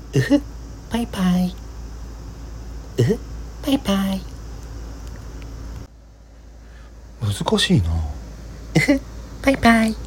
うふ、バイバイ。うふ、バイバイ。 難しいな。 うふ、バイバイ。